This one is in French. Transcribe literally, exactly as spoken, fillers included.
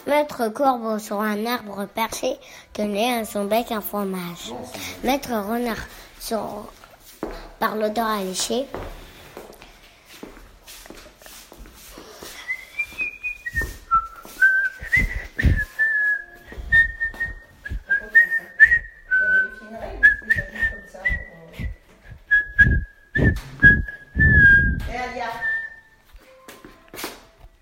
Maître Corbeau sur un arbre perché tenait à son bec un fromage. Maître Renard sur... par l'odeur alléchée